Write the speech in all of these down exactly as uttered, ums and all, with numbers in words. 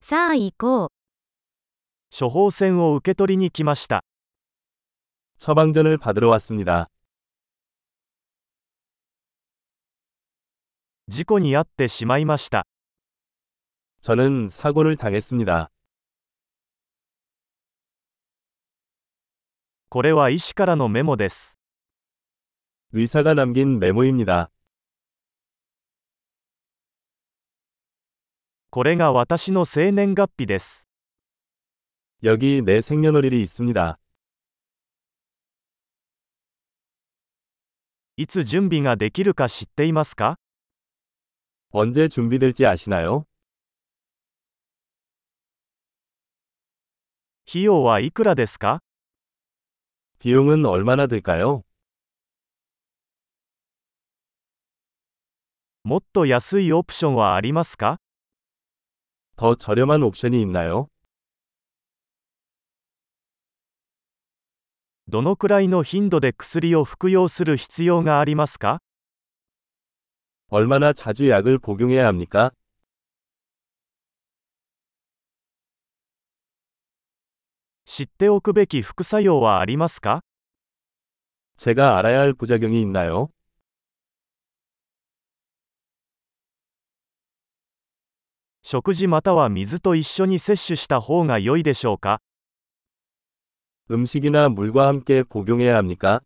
さあ行こう。 処方箋を受け取りに来ました。 처방전을 받으러 왔습니다. 事故に遭ってしまいました。 저는 사고를 당했습니다. これは医師からのメモです。 의사가 남긴 메모입니다. これが私の生年月日です。 여기 내 생년월일이 있습니다. いつ準備ができるか知っていますか？ 언제 준비될지 아시나요? 費用はいくらですか？ 비용은 얼마나 들까요? もっと安いオプションはありますか？ 더 저렴한 옵션이 있나요? どのくらいの頻度で薬を服用する必要がありますか？ 얼마나 자주 약을 복용해야 합니까? 知っておくべき副作用はありますか？ 제가 알아야 할 부작용이 있나요? 食事または水と一緒に摂取した方が良いでしょうか？ 음식이나 물과 함께 복용해야 합니까?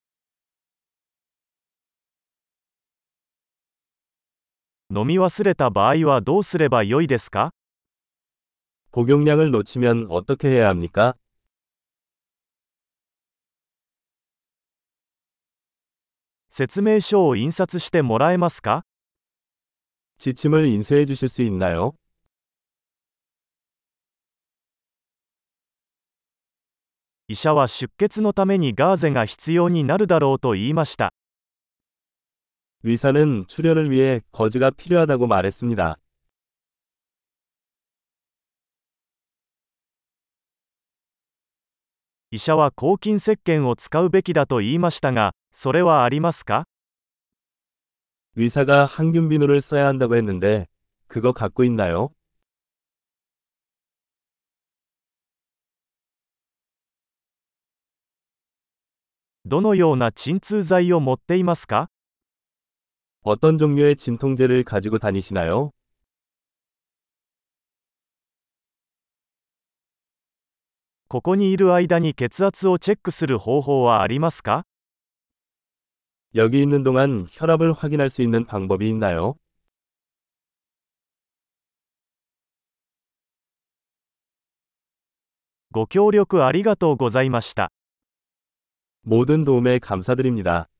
飲み忘れた場合はどうすれば良いですか？ 복용량을 놓치면 어떻게 해야 합니까? 説明書を印刷してもらえますか？ 지침을 인쇄해 주실 수 있나요? 医者は出血のためにガーゼが必要になるだろうと言いました。 의사는 출혈을 위해 거즈가 필요하다고 말했습니다. 医者は抗菌石鹸を使うべきだと言いましたが、それはありますか？ 의사가 항균 비누를 써야 한다고 했는데, 그거 갖고 있나요? どのような鎮痛剤を持っていますか？ 어떤 종류의 진통제를 가지고 다니시나요? ここにいる間に血圧をチェックする方法はありますか？ 여기 있는 동안 혈압을 확인할 수 있는 방법이 있나요? ご協力ありがとうございました。 모든 도움에 감사드립니다.